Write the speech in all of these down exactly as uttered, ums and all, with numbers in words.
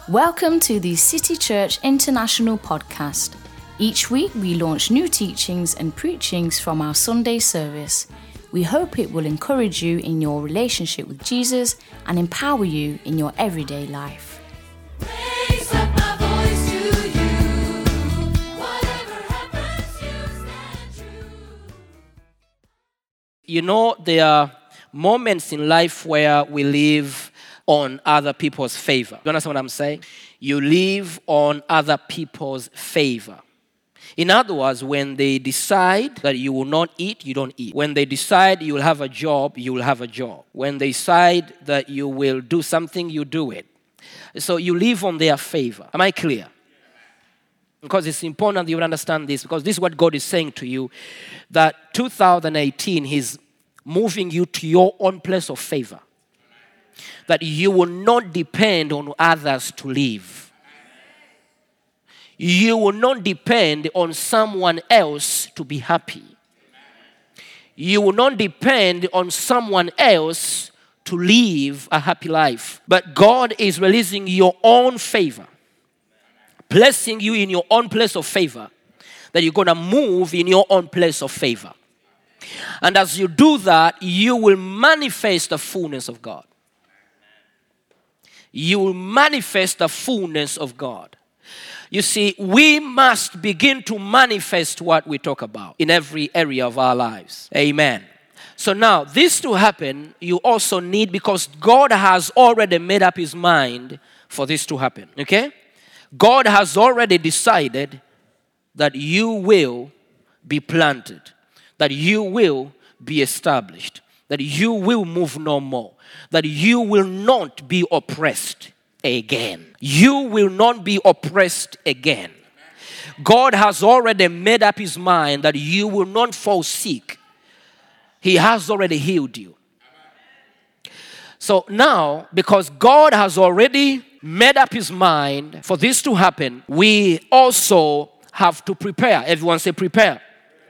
Welcome to the City Church International podcast. Each week we launch new teachings and preachings from our Sunday service. We hope it will encourage you in your relationship with Jesus and empower you in your everyday life. Raise up my voice to you. Whatever happens, you stand true. You know, there are moments in life where we live on other people's favor. You understand what I'm saying? You live on other people's favor. In other words, when they decide that you will not eat, you don't eat. When they decide you will have a job, you will have a job. When they decide that you will do something, you do it. So you live on their favor. Am I clear? Because it's important that you understand this, because this is what God is saying to you, that two thousand eighteen, He's moving you to your own place of favor. That you will not depend on others to live. You will not depend on someone else to be happy. You will not depend on someone else to live a happy life. But God is releasing your own favor, placing you in your own place of favor, that you're going to move in your own place of favor. And as you do that, you will manifest the fullness of God. You will manifest the fullness of God. You see, we must begin to manifest what we talk about in every area of our lives. Amen. So now, this to happen, you also need, because God has already made up His mind for this to happen. Okay? God has already decided that you will be planted, that you will be established, that you will move no more, that you will not be oppressed again. You will not be oppressed again. God has already made up His mind that you will not fall sick. He has already healed you. So now, because God has already made up His mind for this to happen, we also have to prepare. Everyone say prepare.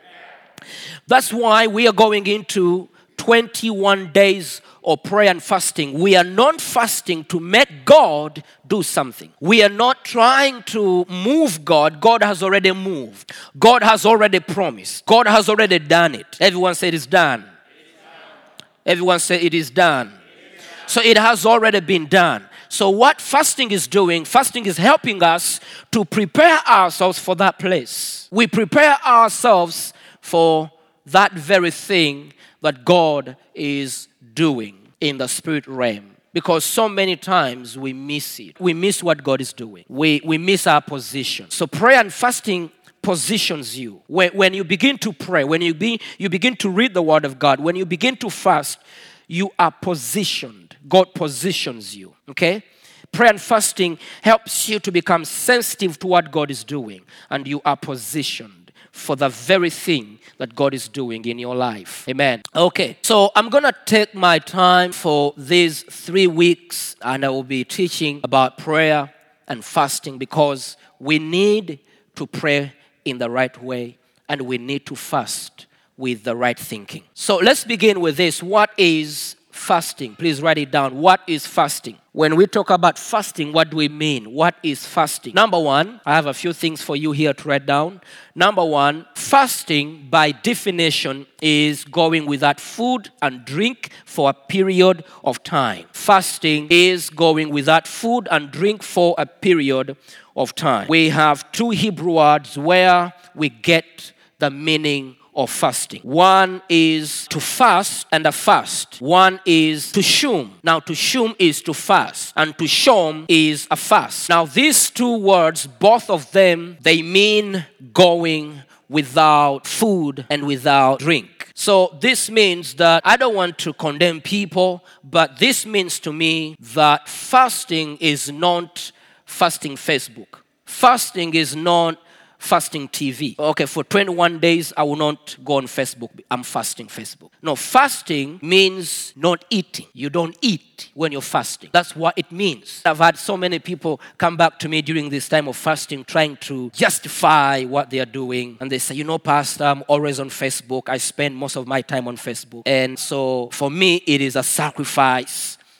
That's why we are going into twenty-one days of prayer and fasting. We are not fasting to make God do something. We are not trying to move God. God has already moved. God has already promised. God has already done it. Everyone say it is done. It is done. Everyone say it is done. It is done. So it has already been done. So what fasting is doing, fasting is helping us to prepare ourselves for that place. We prepare ourselves for that very thing that God is doing in the spirit realm. Because so many times we miss it. We miss what God is doing. We, we miss our position. So prayer and fasting positions you. When, when you begin to pray, when you, be, you begin to read the Word of God, when you begin to fast, you are positioned. God positions you. Okay? Prayer and fasting helps you to become sensitive to what God is doing. And you are positioned for the very thing that God is doing in your life. Amen. Okay, so I'm going to take my time for these three weeks and I will be teaching about prayer and fasting, because we need to pray in the right way and we need to fast with the right thinking. So let's begin with this. What is fasting? Please write it down. What is fasting? When we talk about fasting, what do we mean? What is fasting? Number one, I have a few things for you here to write down. Number one, fasting by definition is going without food and drink for a period of time. Fasting is going without food and drink for a period of time. We have two Hebrew words where we get the meaning of fasting. One is to fast and a fast. One is to shum. Now to shum is to fast and to shom is a fast. Now these two words, both of them, they mean going without food and without drink. So this means that I don't want to condemn people, but this means to me that fasting is not fasting Facebook. Fasting is not fasting T V. Okay, for twenty-one days, I will not go on Facebook. I'm fasting Facebook. No, fasting means not eating. You don't eat when you're fasting. That's what it means. I've had so many people come back to me during this time of fasting trying to justify what they are doing. And they say, you know, Pastor, I'm always on Facebook. I spend most of my time on Facebook. And so for me, it is a sacrifice.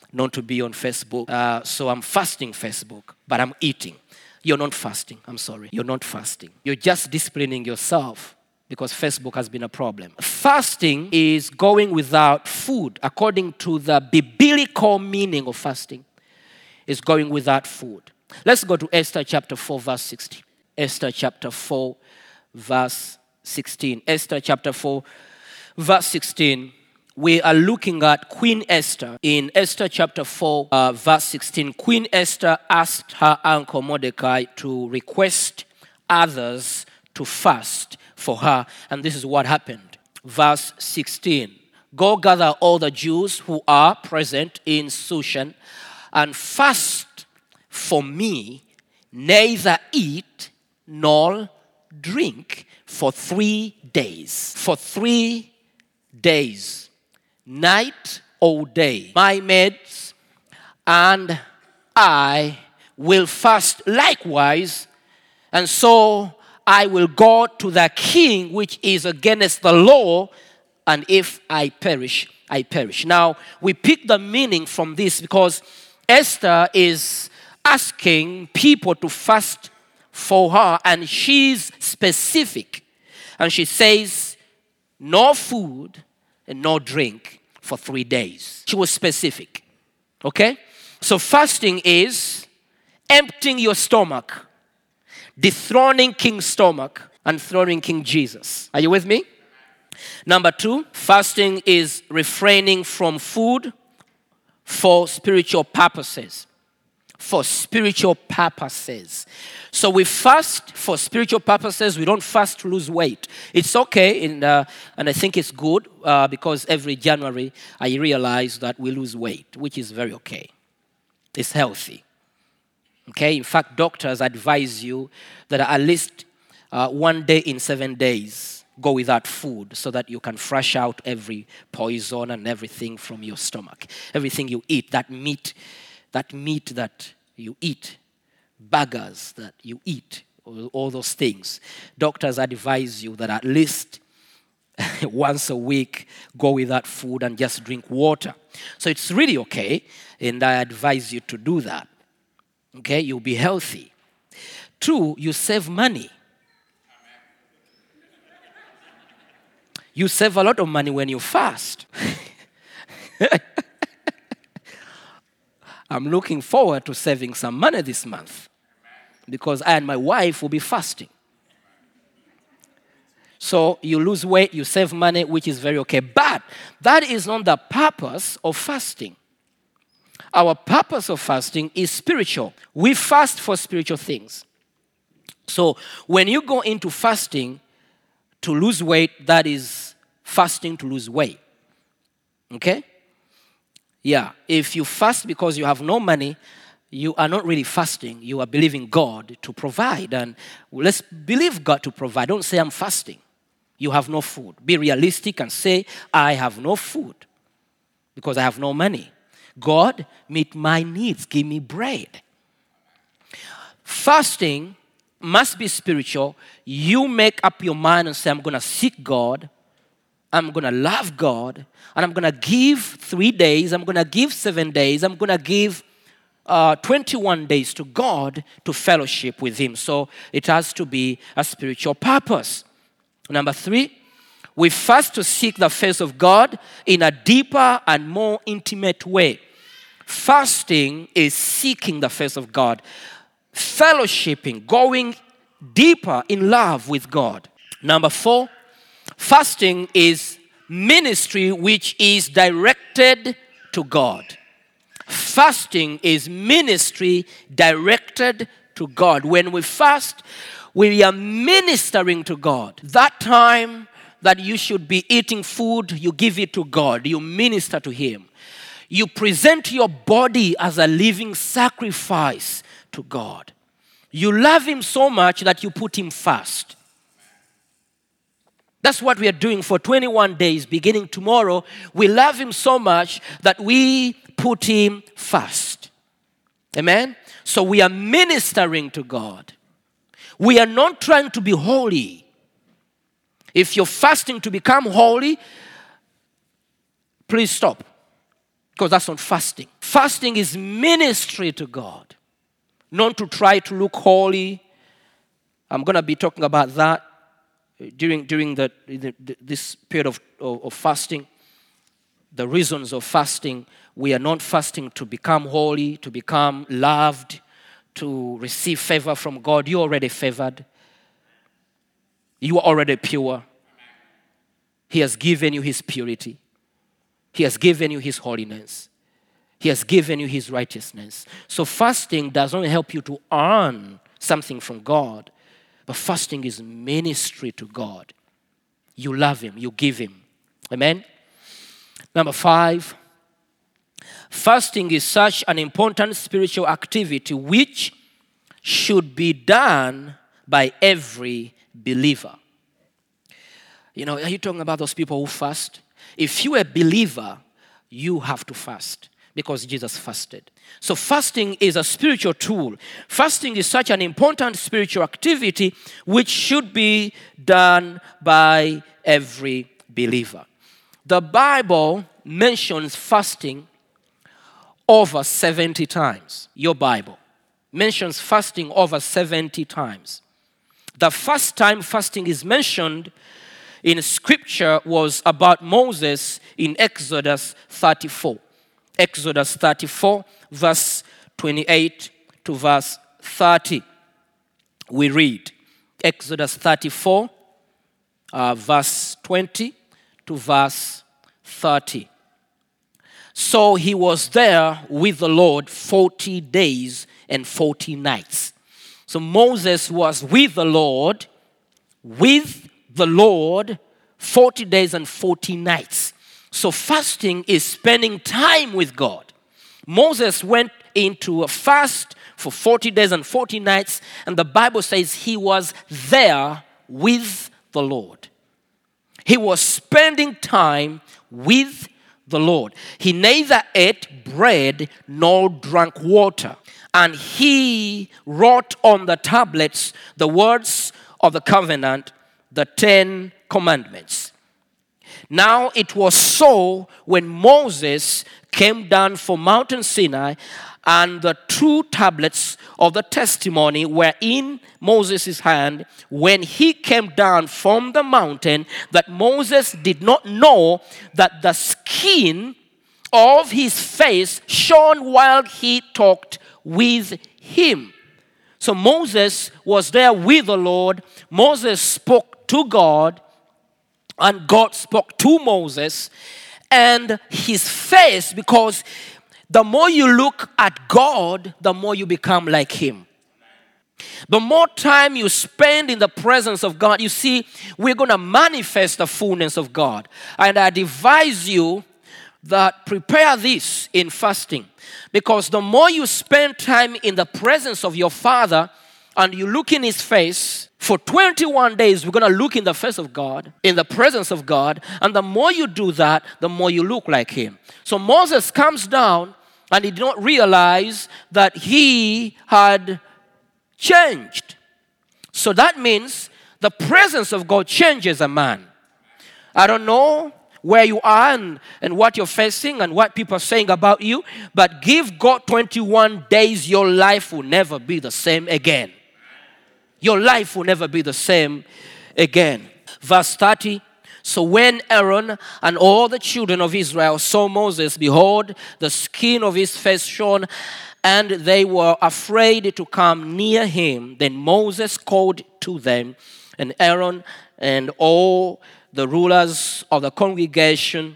not to be on Facebook. Uh, so I'm fasting Facebook, but I'm eating. You're not fasting. I'm sorry. You're not fasting. You're just disciplining yourself because Facebook has been a problem. Fasting is going without food. According to the biblical meaning of fasting, is going without food. Let's go to Esther chapter four, verse sixteen. Esther chapter four, verse sixteen. Esther chapter four, verse sixteen. We are looking at Queen Esther. In Esther chapter four, uh, verse sixteen, Queen Esther asked her uncle Mordecai to request others to fast for her. And this is what happened. Verse sixteen, go gather all the Jews who are present in Shushan and fast for me, neither eat nor drink for three days. For three days. Night or day. My maids and I will fast likewise, and so I will go to the king which is against the law, and if I perish, I perish. Now, we pick the meaning from this because Esther is asking people to fast for her, and she's specific. And she says, no food and no drink for three days. She was specific. Okay? So fasting is emptying your stomach, dethroning King's stomach, and throning King Jesus. Are you with me? Number two, fasting is refraining from food for spiritual purposes. For spiritual purposes. So we fast for spiritual purposes. We don't fast to lose weight. It's okay, in, uh, and I think it's good uh, because every January I realize that we lose weight, which is very okay. It's healthy. Okay, in fact, doctors advise you that at least uh, one day in seven days go without food so that you can flush out every poison and everything from your stomach. Everything you eat, that meat, that meat that you eat, burgers that you eat, all, all those things. Doctors advise you that at least once a week go without food and just drink water. So it's really okay, and I advise you to do that. Okay, you'll be healthy. Two, you save money. You save a lot of money when you fast. I'm looking forward to saving some money this month because I and my wife will be fasting. So you lose weight, you save money, which is very okay. But that is not the purpose of fasting. Our purpose of fasting is spiritual. We fast for spiritual things. So when you go into fasting to lose weight, that is fasting to lose weight. Okay? Yeah, if you fast because you have no money, you are not really fasting. You are believing God to provide. And let's believe God to provide. Don't say I'm fasting. You have no food. Be realistic and say, I have no food because I have no money. God, meet my needs. Give me bread. Fasting must be spiritual. You make up your mind and say, I'm going to seek God. I'm going to love God. And I'm going to give three days. I'm going to give seven days. I'm going to give uh, twenty-one days to God to fellowship with Him. So it has to be a spiritual purpose. Number three, we fast to seek the face of God in a deeper and more intimate way. Fasting is seeking the face of God. Fellowshipping, going deeper in love with God. Number four, fasting is ministry which is directed to God. Fasting is ministry directed to God. When we fast, we are ministering to God. That time that you should be eating food, you give it to God. You minister to Him. You present your body as a living sacrifice to God. You love Him so much that you put Him first. That's what we are doing for twenty-one days, beginning tomorrow. We love Him so much that we put Him first. Amen? So we are ministering to God. We are not trying to be holy. If you're fasting to become holy, please stop. Because that's not fasting. Fasting is ministry to God, not to try to look holy. I'm going to be talking about that during, during the, the, this period of, of, of fasting. The reasons of fasting. We are not fasting to become holy, to become loved, to receive favor from God. You're already favored. You are already pure. He has given you His purity. He has given you His holiness. He has given you His righteousness. So fasting does not help you to earn something from God, but fasting is ministry to God. You love Him. You give Him. Amen? Number five, fasting is such an important spiritual activity which should be done by every believer. You know, are you talking about those people who fast? If you're a believer, you have to fast because Jesus fasted. So fasting is a spiritual tool. Fasting is such an important spiritual activity which should be done by every believer. The Bible mentions fasting over seventy times. Your Bible mentions fasting over seventy times. The first time fasting is mentioned in Scripture was about Moses in Exodus thirty-four. Exodus thirty-four, verse twenty-eight to verse thirty. We read Exodus thirty-four, uh, verse twenty to verse thirty. So he was there with the Lord forty days and forty nights. So Moses was with the Lord, with the Lord, forty days and forty nights. So fasting is spending time with God. Moses went into a fast for forty days and forty nights, and the Bible says he was there with the Lord. He was spending time with the Lord. He neither ate bread nor drank water. And he wrote on the tablets the words of the covenant, the Ten Commandments. Now it was so when Moses came down from Mount Sinai, and the two tablets of the testimony were in Moses' hand when he came down from the mountain, that Moses did not know that the skin of his face shone while he talked with him. So Moses was there with the Lord. Moses spoke to God, and God spoke to Moses. And his face, because the more you look at God, the more you become like Him. The more time you spend in the presence of God, you see, we're going to manifest the fullness of God. And I advise you that prepare this in fasting. Because the more you spend time in the presence of your Father and you look in His face, for twenty-one days, we're going to look in the face of God, in the presence of God. And the more you do that, the more you look like Him. So Moses comes down, and he did not realize that he had changed. So that means the presence of God changes a man. I don't know where you are and, and what you're facing and what people are saying about you, but give God twenty-one days, your life will never be the same again. Your life will never be the same again. Verse thirty. So when Aaron and all the children of Israel saw Moses, behold, the skin of his face shone, and they were afraid to come near him. Then Moses called to them, and Aaron and all the rulers of the congregation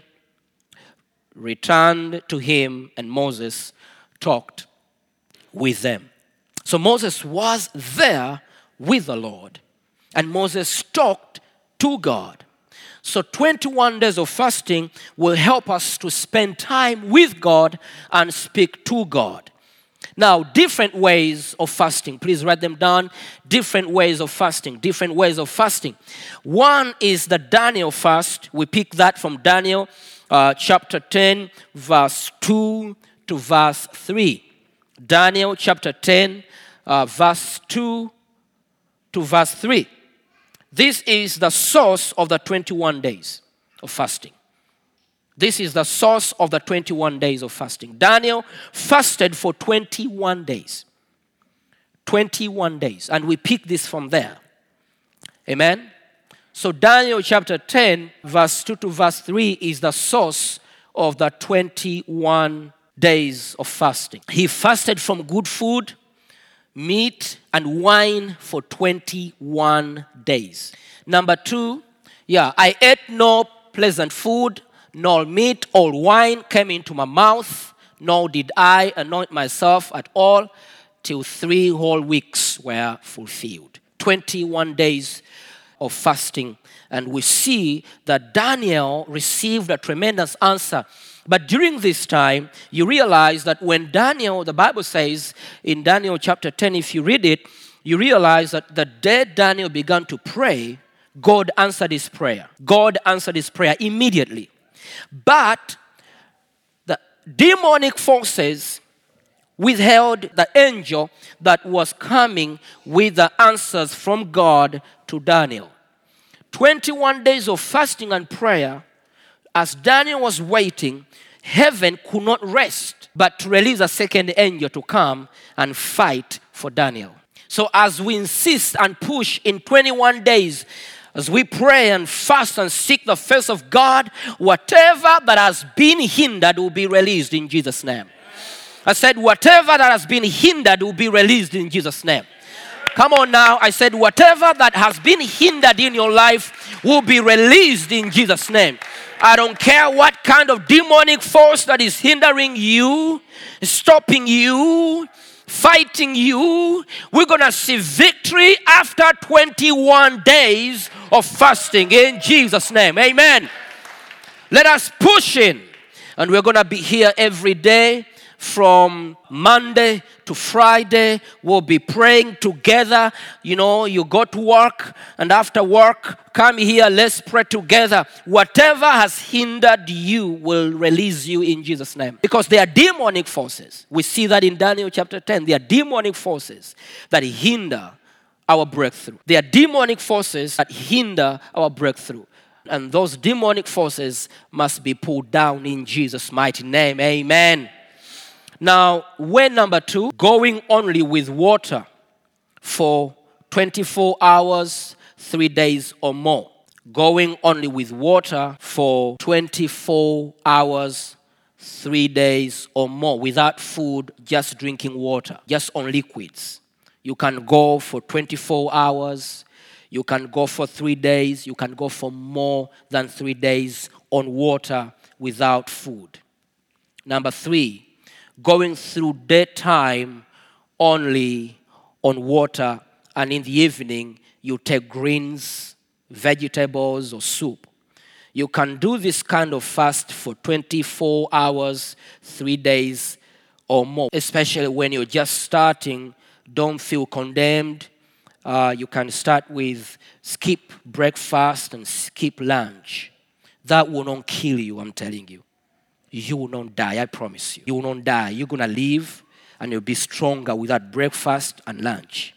returned to him, and Moses talked with them. So Moses was there with the Lord, and Moses talked to God. So twenty-one days of fasting will help us to spend time with God and speak to God. Now, different ways of fasting. Please write them down. Different ways of fasting. Different ways of fasting. One is the Daniel fast. We pick that from Daniel uh, chapter ten, verse two to verse three. Daniel chapter ten, uh, verse two to verse three. This is the source of the twenty-one days of fasting. This is the source of the twenty-one days of fasting. Daniel fasted for twenty-one days. twenty-one days. And we pick this from there. Amen? So Daniel chapter ten, verse two to verse three is the source of the twenty-one days of fasting. He fasted from good food, meat, and wine for twenty-one days. Number two, yeah, I ate no pleasant food, nor meat or wine came into my mouth, nor did I anoint myself at all, till three whole weeks were fulfilled. twenty-one days of fasting. And we see that Daniel received a tremendous answer. But during this time, you realize that when Daniel, the Bible says in Daniel chapter ten, if you read it, you realize that the day Daniel began to pray, God answered his prayer. God answered his prayer immediately. But the demonic forces withheld the angel that was coming with the answers from God to Daniel. twenty-one days of fasting and prayer, as Daniel was waiting, heaven could not rest but to release a second angel to come and fight for Daniel. So as we insist and push in twenty-one days, as we pray and fast and seek the face of God, whatever that has been hindered will be released in Jesus' name. I said, whatever that has been hindered will be released in Jesus' name. Come on now. I said, whatever that has been hindered in your life will be released in Jesus' name. I don't care what kind of demonic force that is hindering you, stopping you, fighting you. We're going to see victory after twenty-one days of fasting in Jesus' name. Amen. Let us push in. And we're going to be here every day from Monday to Friday. We'll be praying together. You know, you go to work, and after work, come here, let's pray together. Whatever has hindered you will release you in Jesus' name. Because they are demonic forces. We see that in Daniel chapter ten. They are demonic forces that hinder our breakthrough. They are demonic forces that hinder our breakthrough. And those demonic forces must be pulled down in Jesus' mighty name. Amen. Now, way number two, going only with water for twenty-four hours, three days or more. Going only with water for twenty-four hours, three days or more. Without food, just drinking water, just on liquids. You can go for twenty-four hours. You can go for three days. You can go for more than three days on water without food. Number three, going through daytime only on water, and in the evening you take greens, vegetables, or soup. You can do this kind of fast for twenty-four hours, three days or more, especially when you're just starting. Don't feel condemned. Uh, you can start with skip breakfast and skip lunch. That will not kill you, I'm telling you. You will not die, I promise you. You will not die. You're going to live and you'll be stronger without breakfast and lunch.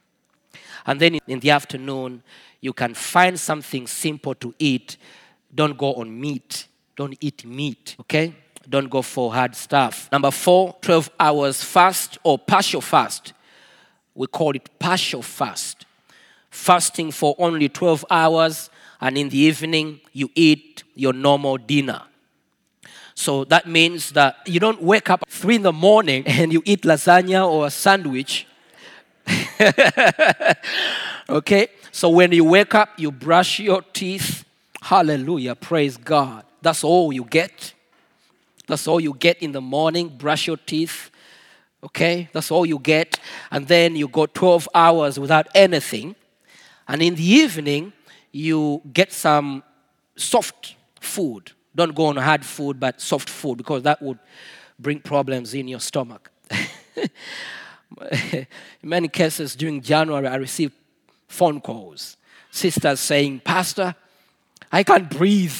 And then in the afternoon, you can find something simple to eat. Don't go on meat. Don't eat meat, okay? Don't go for hard stuff. Number four, twelve hours fast or partial fast. We call it partial fast. Fasting for only twelve hours, and in the evening, you eat your normal dinner. So that means that you don't wake up at three in the morning and you eat lasagna or a sandwich. Okay? So when you wake up, you brush your teeth. Hallelujah. Praise God. That's all you get. That's all you get in the morning. Brush your teeth. Okay? That's all you get. And then you go twelve hours without anything. And in the evening, you get some soft food. Don't go on hard food, but soft food, because that would bring problems in your stomach. In many cases, during January, I received phone calls. Sisters saying, Pastor, I can't breathe.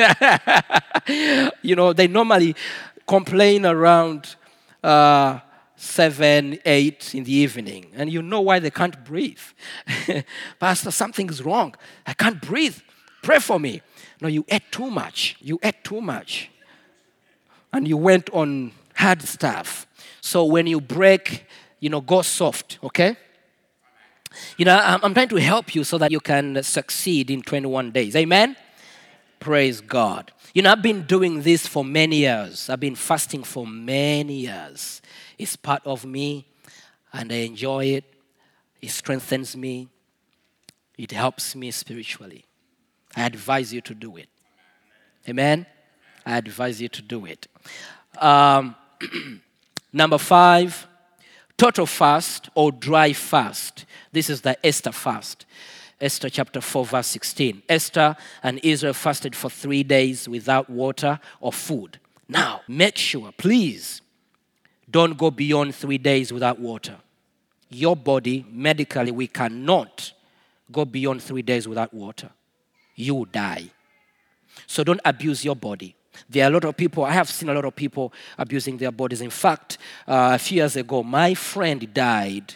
You know, they normally complain around uh, seven, eight in the evening. And you know why they can't breathe. Pastor, something's wrong. I can't breathe. Pray for me. No, you ate too much. You ate too much. And you went on hard stuff. So when you break, you know, go soft, okay? You know, I'm, I'm trying to help you so that you can succeed in twenty-one days. Amen? Praise God. You know, I've been doing this for many years. I've been fasting for many years. It's part of me, and I enjoy it. It strengthens me. It helps me spiritually. I advise you to do it. Amen? I advise you to do it. Um, number five, total fast or dry fast. This is the Esther fast. Esther chapter four, verse sixteen. Esther and Israel fasted for three days without water or food. Now, make sure, please, don't go beyond three days without water. Your body, medically, we cannot go beyond three days without water. You will die. So don't abuse your body. There are a lot of people, I have seen a lot of people abusing their bodies. In fact, uh, a few years ago, my friend died.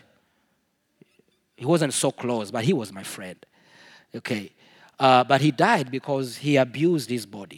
He wasn't so close, but he was my friend. Okay. Uh, but he died because he abused his body.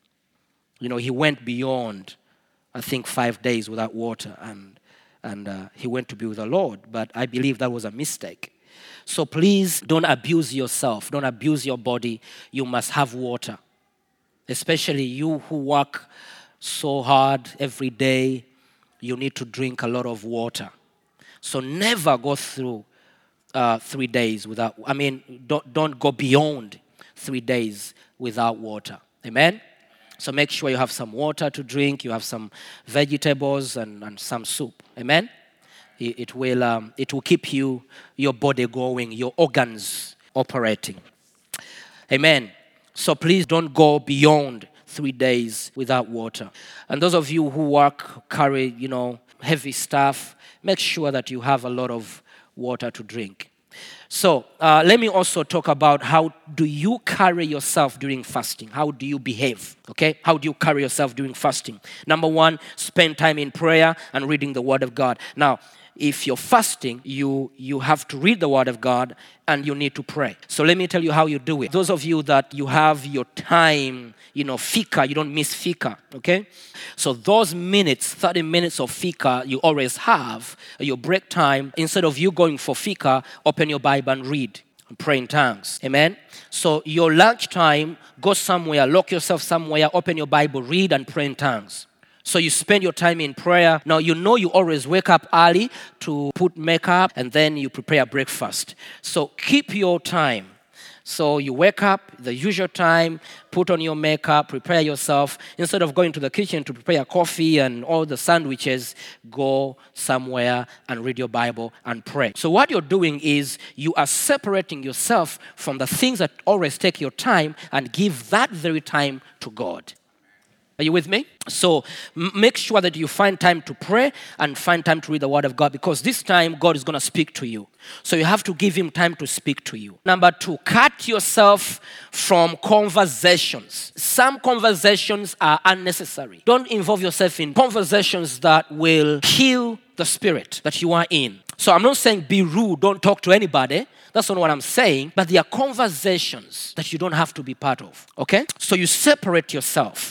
You know, he went beyond, I think, five days without water, and, and uh, he went to be with the Lord. But I believe that was a mistake. So please don't abuse yourself. Don't abuse your body. You must have water. Especially you who work so hard every day, you need to drink a lot of water. So never go through uh, three days without, I mean, don't, don't go beyond three days without water. Amen? So make sure you have some water to drink, you have some vegetables and, and some soup. Amen? It, it will um, it will keep you, your body going, your organs operating. Amen? So please don't go beyond three days without water. And those of you who work, carry, you know, heavy stuff, make sure that you have a lot of water to drink. So uh, let me also talk about how do you carry yourself during fasting? How do you behave? Okay? How do you carry yourself during fasting? Number one, spend time in prayer and reading the Word of God. Now, if you're fasting, you, you have to read the Word of God and you need to pray. So let me tell you how you do it. Those of you that you have your time, you know, fika, you don't miss fika, okay? So those minutes, thirty minutes of fika you always have, your break time, instead of you going for fika, open your Bible and read and pray in tongues. Amen? So your lunch time, go somewhere, lock yourself somewhere, open your Bible, read and pray in tongues. So you spend your time in prayer. Now, you know you always wake up early to put makeup and then you prepare breakfast. So keep your time. So you wake up, the usual time, put on your makeup, prepare yourself. Instead of going to the kitchen to prepare coffee and all the sandwiches, go somewhere and read your Bible and pray. So what you're doing is you are separating yourself from the things that always take your time and give that very time to God. Are you with me? So m- make sure that you find time to pray and find time to read the Word of God, because this time God is going to speak to you. So you have to give Him time to speak to you. Number two, cut yourself from conversations. Some conversations are unnecessary. Don't involve yourself in conversations that will kill the spirit that you are in. So I'm not saying be rude, don't talk to anybody. That's not what I'm saying. But there are conversations that you don't have to be part of. Okay? So you separate yourself.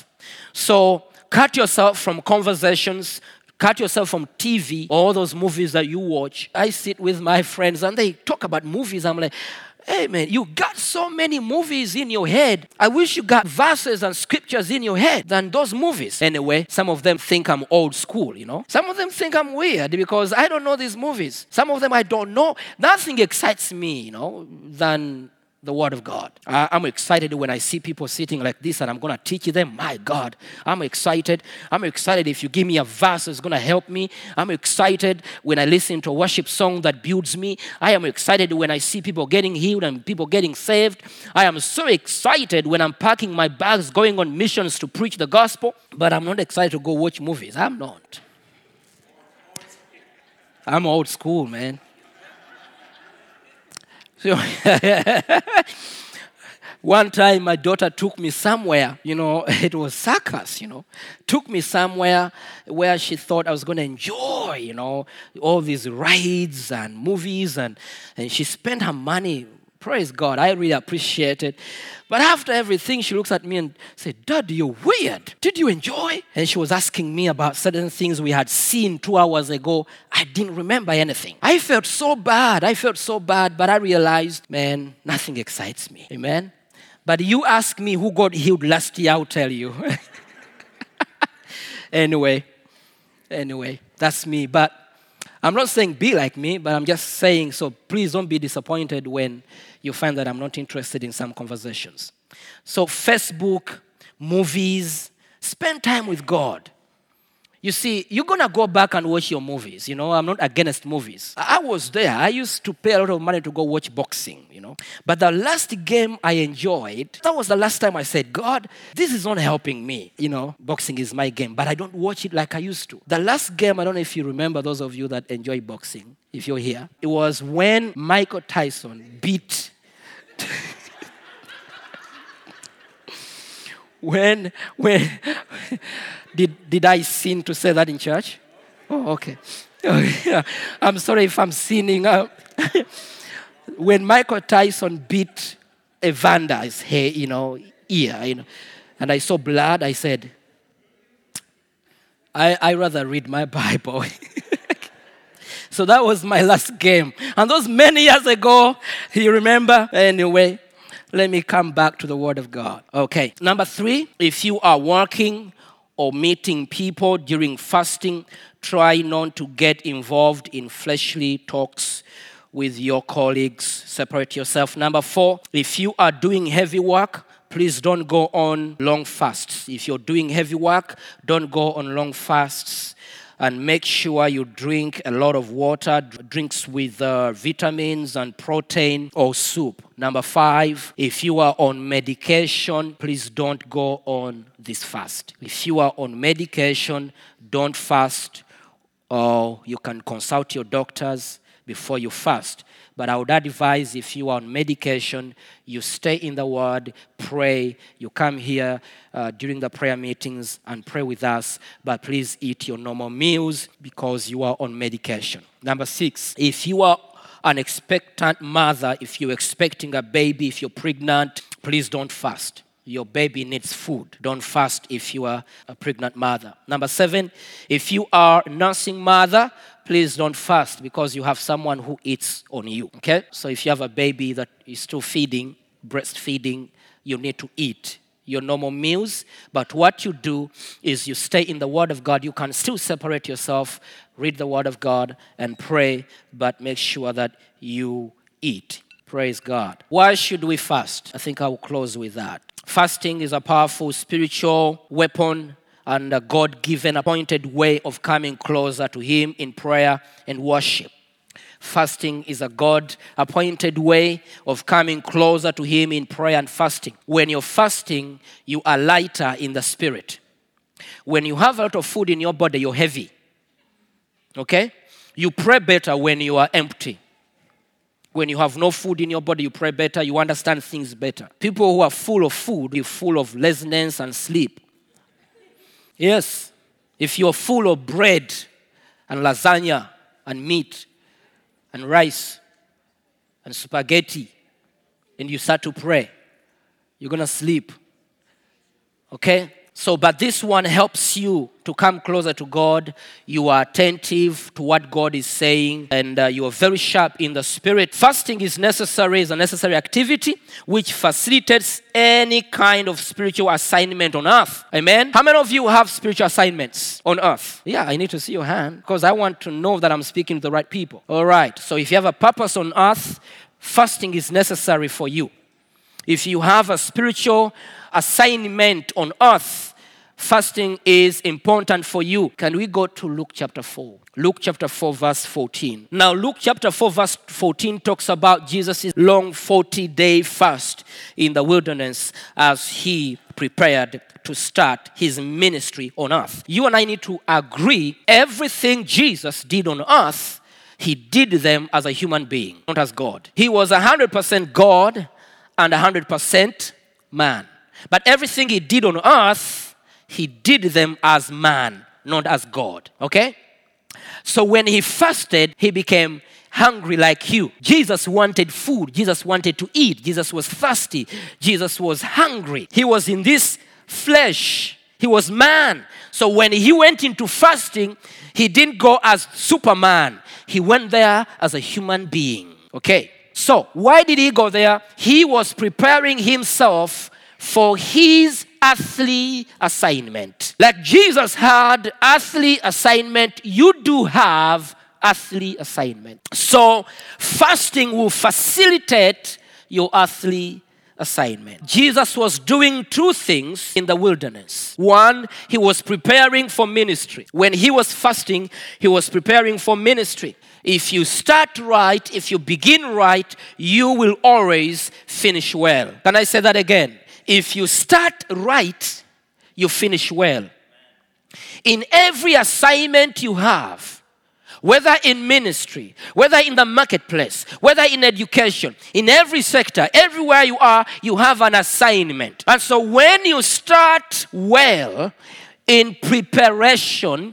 So cut yourself from conversations, cut yourself from T V, all those movies that you watch. I sit with my friends and they talk about movies. I'm like, hey man, you got so many movies in your head. I wish you got verses and scriptures in your head than those movies. Anyway, some of them think I'm old school, you know. Some of them think I'm weird because I don't know these movies. Some of them I don't know. Nothing excites me, you know, than the Word of God. I, I'm excited when I see people sitting like this and I'm going to teach them. My God, I'm excited. I'm excited if you give me a verse that's going to help me. I'm excited when I listen to a worship song that builds me. I am excited when I see people getting healed and people getting saved. I am so excited when I'm packing my bags, going on missions to preach the gospel. But I'm not excited to go watch movies. I'm not. I'm old school, man. So one time my daughter took me somewhere, you know, it was circus, you know, took me somewhere where she thought I was going to enjoy, you know, all these rides and movies, and, and she spent her money Praise God. I really appreciate it. But after everything, she looks at me and said, Dad, you're weird. Did you enjoy? And she was asking me about certain things we had seen two hours ago. I didn't remember anything. I felt so bad. I felt so bad. But I realized, man, nothing excites me. Amen. But you ask me who got healed last year, I'll tell you. Anyway, anyway, that's me. But I'm not saying be like me, but I'm just saying, so please don't be disappointed when you find that I'm not interested in some conversations. So Facebook, movies, spend time with God. You see, you're going to go back and watch your movies. You know, I'm not against movies. I was there. I used to pay a lot of money to go watch boxing, you know. But the last game I enjoyed, that was the last time I said, God, this is not helping me. You know, boxing is my game, but I don't watch it like I used to. The last game, I don't know if you remember, those of you that enjoy boxing, if you're here, it was when Michael Tyson beat... when, when... Did, did I sin to say that in church? Oh, okay. Oh, yeah. I'm sorry if I'm sinning. Uh, when Michael Tyson beat Evander's hair, you know, ear, you know, and I saw blood, I said, I I rather read my Bible. So that was my last game. And those many years ago, you remember? Anyway, let me come back to the Word of God. Okay. Number three, if you are working or meeting people during fasting, try not to get involved in fleshly talks with your colleagues. Separate yourself. Number four, if you are doing heavy work, please don't go on long fasts. If you're doing heavy work, don't go on long fasts. And make sure you drink a lot of water, drinks with uh, vitamins and protein or soup. Number five, if you are on medication, please don't go on this fast. If you are on medication, don't fast, or you can consult your doctors before you fast. But I would advise, if you are on medication, you stay in the Word, pray. You come here uh, during the prayer meetings and pray with us. But please eat your normal meals because you are on medication. Number six, if you are an expectant mother, if you're expecting a baby, if you're pregnant, please don't fast. Your baby needs food. Don't fast if you are a pregnant mother. Number seven, if you are a nursing mother, please don't fast because you have someone who eats on you, okay? So if you have a baby that is still feeding, breastfeeding, you need to eat your normal meals. But what you do is you stay in the Word of God. You can still separate yourself, read the Word of God, and pray, but make sure that you eat. Praise God. Why should we fast? I think I will close with that. Fasting is a powerful spiritual weapon and a God-given appointed way of coming closer to Him in prayer and worship. Fasting is a God-appointed way of coming closer to Him in prayer and fasting. When you're fasting, you are lighter in the spirit. When you have a lot of food in your body, you're heavy. Okay? You pray better when you are empty. When you have no food in your body, you pray better, you understand things better. People who are full of food, you're full of laziness and sleep. Yes, if you're full of bread and lasagna and meat and rice and spaghetti and you start to pray, you're going to sleep. Okay? So, but this one helps you to come closer to God. You are attentive to what God is saying, and uh, you are very sharp in the spirit. Fasting is necessary, is a necessary activity which facilitates any kind of spiritual assignment on earth. Amen? How many of you have spiritual assignments on earth? Yeah, I need to see your hand because I want to know that I'm speaking to the right people. All right. So if you have a purpose on earth, fasting is necessary for you. If you have a spiritual assignment on earth, fasting is important for you. Can we go to Luke chapter four? Luke chapter four, verse fourteen. Now, Luke chapter four, verse fourteen talks about Jesus' long forty-day fast in the wilderness as he prepared to start his ministry on earth. You and I need to agree everything Jesus did on earth, he did them as a human being, not as God. He was one hundred percent God and one hundred percent man. But everything he did on earth, he did them as man, not as God. Okay? So when he fasted, he became one hungry like you. Jesus wanted food. Jesus wanted to eat. Jesus was thirsty. Jesus was hungry. He was in this flesh. He was man. So when he went into fasting, he didn't go as Superman. He went there as a human being. Okay. So why did he go there? He was preparing himself for his earthly assignment. Like Jesus had earthly assignment, you do have earthly assignment. So fasting will facilitate your earthly assignment. Jesus was doing two things in the wilderness. One, he was preparing for ministry. When he was fasting, he was preparing for ministry. If you start right, if you begin right, you will always finish well. Can I say that again? If you start right, you finish well. In every assignment you have, whether in ministry, whether in the marketplace, whether in education, in every sector, everywhere you are, you have an assignment. And so when you start well in preparation,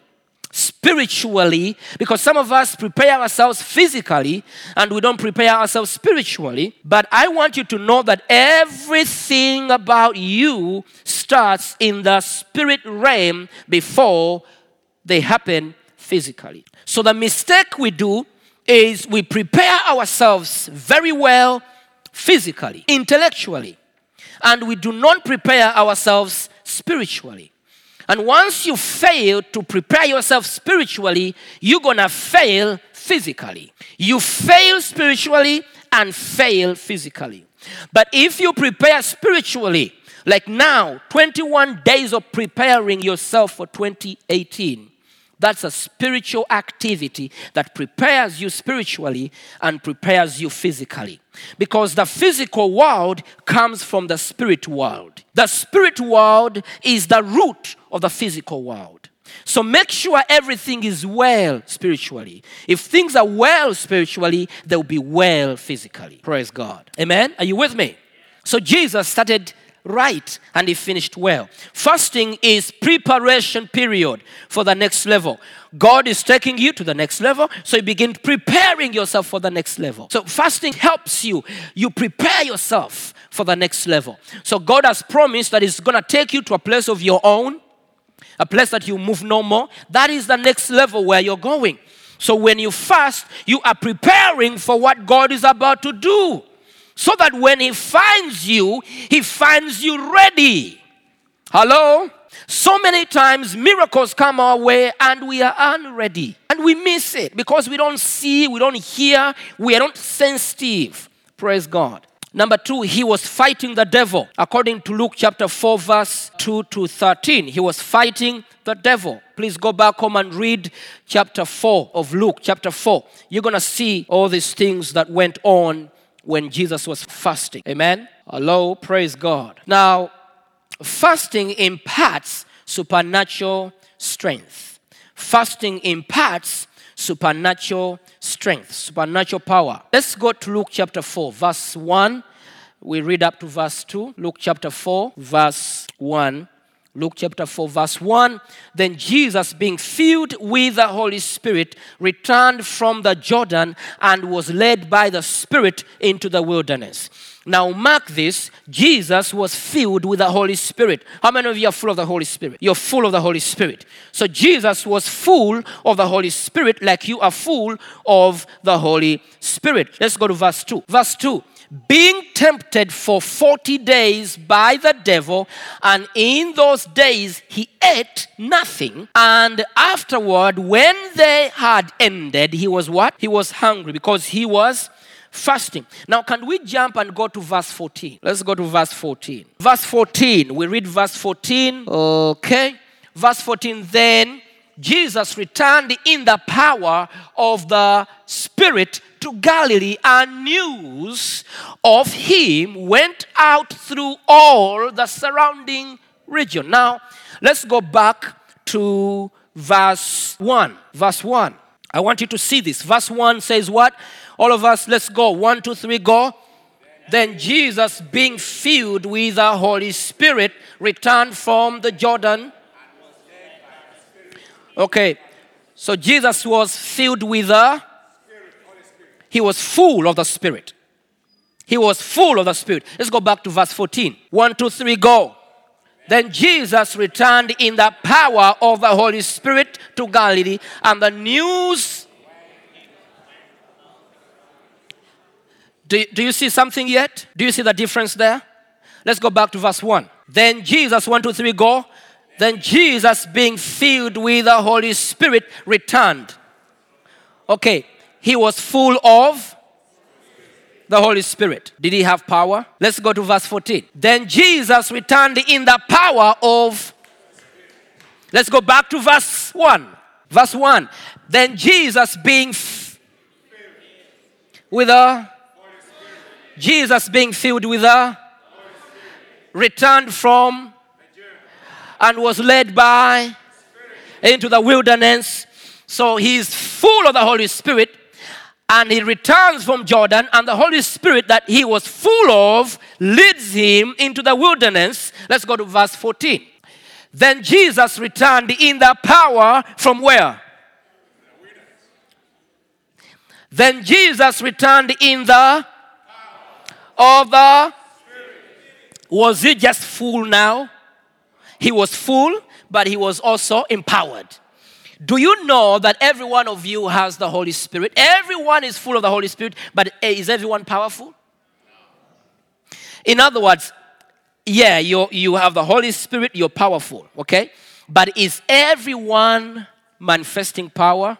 spiritually, because some of us prepare ourselves physically and we don't prepare ourselves spiritually. But I want you to know that everything about you starts in the spirit realm before they happen physically. So the mistake we do is we prepare ourselves very well physically, intellectually, and we do not prepare ourselves spiritually. And once you fail to prepare yourself spiritually, you're going to fail physically. You fail spiritually and fail physically. But if you prepare spiritually, like now, twenty-one days of preparing yourself for twenty eighteen, that's a spiritual activity that prepares you spiritually and prepares you physically. Because the physical world comes from the spirit world. The spirit world is the root of the physical world. So make sure everything is well spiritually. If things are well spiritually, they'll be well physically. Praise God. Amen? Are you with me? So Jesus started right and he finished well. Fasting is preparation period for the next level. God is taking you to the next level, so you begin preparing yourself for the next level. So fasting helps you. You prepare yourself for the next level. So God has promised that He's going to take you to a place of your own, a place that you move no more. That is the next level where you're going. So when you fast, you are preparing for what God is about to do. So that when He finds you, He finds you ready. Hello? So many times miracles come our way and we are unready. And we miss it because we don't see, we don't hear, we are not sensitive. Praise God. Number two, he was fighting the devil. According to Luke chapter four, verse two to thirteen, he was fighting the devil. Please go back home and read chapter four of Luke, chapter four. You're going to see all these things that went on when Jesus was fasting. Amen? Hello, praise God. Now, fasting imparts supernatural strength. Fasting imparts supernatural strength, supernatural power. Let's go to Luke chapter four, verse one. We read up to verse two. Luke chapter four, verse one. Luke chapter four, verse one. Then Jesus, being filled with the Holy Spirit, returned from the Jordan and was led by the Spirit into the wilderness. Now mark this, Jesus was filled with the Holy Spirit. How many of you are full of the Holy Spirit? You're full of the Holy Spirit. So Jesus was full of the Holy Spirit like you are full of the Holy Spirit. Let's go to verse two. Verse two. Being tempted for forty days by the devil, and in those days he ate nothing. And afterward, when they had ended, he was what? He was hungry because he was fasting. Now, can we jump and go to verse fourteen? Let's go to verse fourteen. Verse fourteen. We read verse fourteen. Okay. Verse fourteen. Then Jesus returned in the power of the Spirit to Galilee, and news of him went out through all the surrounding region. Now, let's go back to verse one. Verse one. I want you to see this. Verse one says what? All of us, let's go. One, two, three, go. Then Jesus, being filled with the Holy Spirit, returned from the Jordan. Okay. So Jesus was filled with the... He was full of the Spirit. He was full of the Spirit. Let's go back to verse fourteen. One, two, three, go. Then Jesus returned in the power of the Holy Spirit to Galilee, and the news. Do, do you see something yet? Do you see the difference there? Let's go back to verse one. Then Jesus, one, two, three, go. Then Jesus, being filled with the Holy Spirit, returned. Okay, he was full of the Holy Spirit. Did he have power? Let's go to verse fourteen. Then Jesus returned in the power of. Let's go back to verse one. Verse one. Then Jesus being f- with a. Jesus being filled with a. Returned from. And was led by. Into the wilderness. So he's full of the Holy Spirit. And he returns from Jordan, and the Holy Spirit that he was full of leads him into the wilderness. Let's go to verse fourteen. Then Jesus returned in the power from where? Then Jesus returned in the of the. Was he just full now? He was full, but he was also empowered. Do you know that every one of you has the Holy Spirit? Everyone is full of the Holy Spirit, but is everyone powerful? In other words, yeah, you you have the Holy Spirit, you're powerful, okay? But is everyone manifesting power?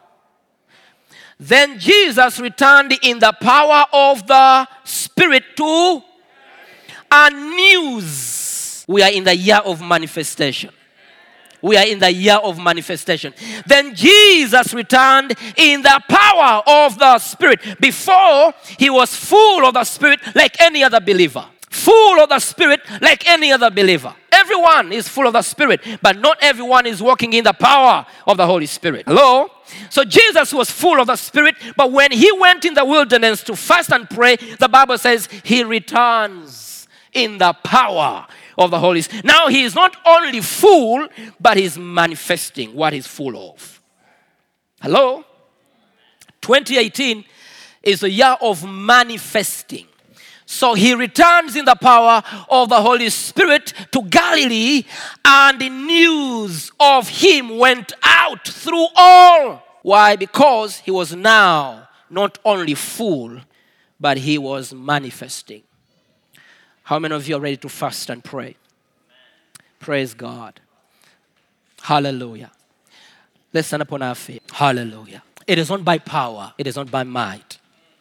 Then Jesus returned in the power of the Spirit to a news. We are in the year of manifestation. We are in the year of manifestation. Then Jesus returned in the power of the Spirit. Before, he was full of the Spirit like any other believer. Full of the Spirit like any other believer. Everyone is full of the Spirit, but not everyone is walking in the power of the Holy Spirit. Hello? So Jesus was full of the Spirit, but when he went in the wilderness to fast and pray, the Bible says he returns in the power of the Holy Spirit. Now he is not only full, but he's manifesting what he's full of. Hello? twenty eighteen is the year of manifesting. So he returns in the power of the Holy Spirit to Galilee, and the news of him went out through all. Why? Because he was now not only full, but he was manifesting. How many of you are ready to fast and pray? Praise God. Hallelujah. Let's stand upon our feet. Hallelujah. It is not by power. It is not by might.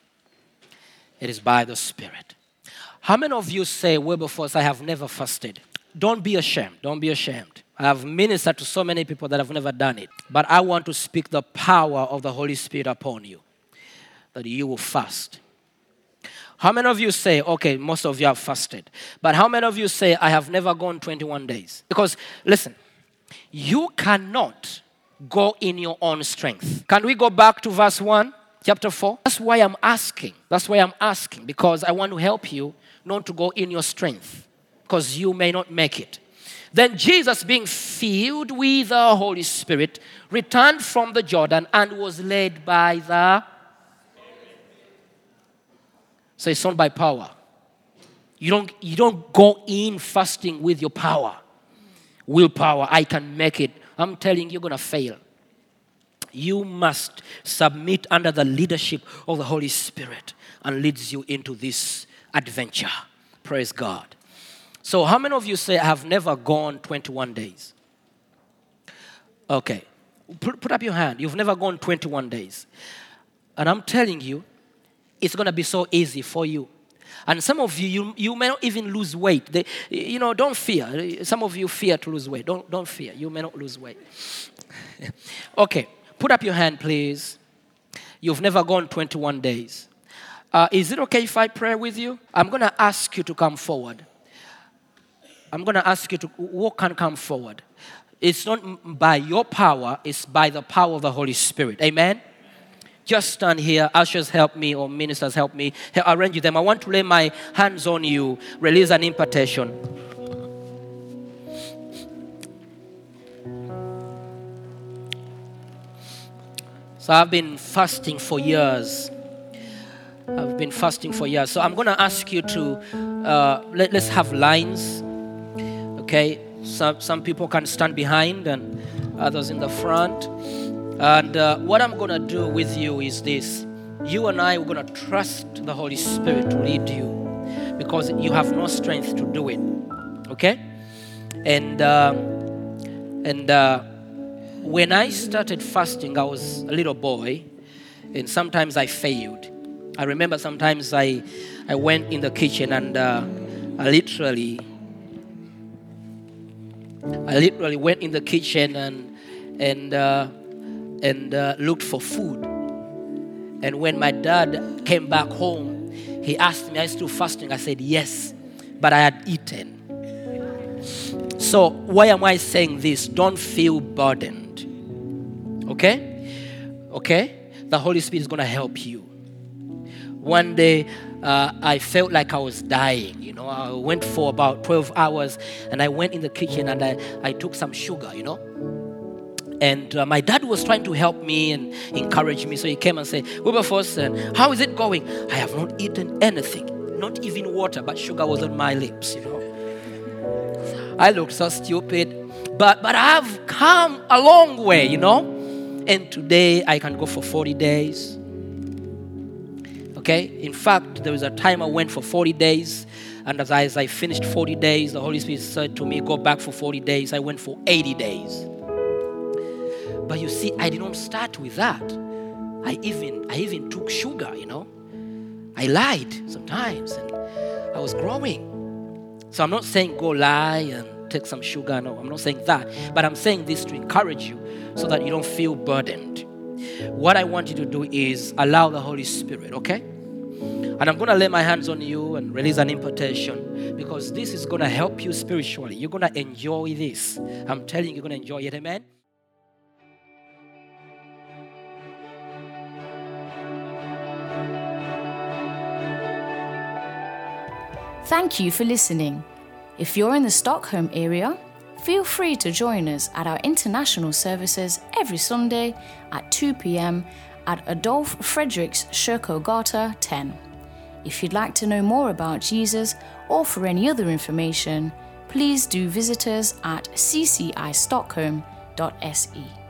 It is by the Spirit. How many of you say, Wilberforce, I have never fasted? Don't be ashamed. Don't be ashamed. I have ministered to so many people that have never done it. But I want to speak the power of the Holy Spirit upon you, that you will fast. How many of you say, okay, most of you have fasted, but how many of you say, I have never gone twenty-one days? Because, listen, you cannot go in your own strength. Can we go back to verse one, chapter four? That's why I'm asking. That's why I'm asking, because I want to help you not to go in your strength, because you may not make it. Then Jesus, being filled with the Holy Spirit, returned from the Jordan and was led by the. So it's not by power. You don't, you don't go in fasting with your power. Willpower, I can make it. I'm telling you, you're going to fail. You must submit under the leadership of the Holy Spirit and leads you into this adventure. Praise God. So how many of you say, I have never gone twenty-one days? Okay. Put, put up your hand. You've never gone twenty-one days. And I'm telling you, it's going to be so easy for you. And some of you, you, you may not even lose weight. They, you know, don't fear. Some of you fear to lose weight. Don't, don't fear. You may not lose weight. Okay. Put up your hand, please. You've never gone twenty-one days. Uh, is it okay if I pray with you? I'm going to ask you to come forward. I'm going to ask you to walk and come forward. It's not by your power. It's by the power of the Holy Spirit. Amen? Just stand here. Ushers help me, or ministers help me. Arrange them. I want to lay my hands on you. Release an impartation. So I've been fasting for years. I've been fasting for years. So I'm going to ask you to, uh, let, let's have lines. Okay? Some, some people can stand behind and others in the front. And uh, what I'm going to do with you is this. You and I are going to trust the Holy Spirit to lead you because you have no strength to do it. Okay? And, uh, and uh, when I started fasting, I was a little boy. And sometimes I failed. I remember sometimes I, I went in the kitchen and uh, I literally, I literally went in the kitchen and and uh, and uh, looked for food. And when my dad came back home, he asked me, "Are you still fasting?" I said, "Yes," but I had eaten. So why am I saying this? Don't feel burdened. Okay, okay. The Holy Spirit is going to help you. One day, uh, I felt like I was dying. You know, I went for about twelve hours, and I went in the kitchen and I, I took some sugar, you know. And uh, my dad was trying to help me and encourage me. So he came and said, "Wilberforce, uh, how is it going?" I have not eaten anything, not even water, but sugar was on my lips, you know. I looked so stupid, but, but I have come a long way, you know. And today I can go for forty days. Okay? In fact, there was a time I went for forty days. And as I, as I finished forty days, the Holy Spirit said to me, "Go back for forty days. I went for eighty days. But you see, I did not start with that. I even, I even took sugar, you know. I lied sometimes. And I was growing. So I'm not saying go lie and take some sugar. No, I'm not saying that. But I'm saying this to encourage you so that you don't feel burdened. What I want you to do is allow the Holy Spirit, okay? And I'm going to lay my hands on you and release an impartation because this is going to help you spiritually. You're going to enjoy this. I'm telling you, you're going to enjoy it. Amen? Thank you for listening. If you're in the Stockholm area, feel free to join us at our international services every Sunday at two p.m. at Adolf Fredriks Kyrkogata ten. If you'd like to know more about Jesus or for any other information, please do visit us at c c i stockholm dot s e.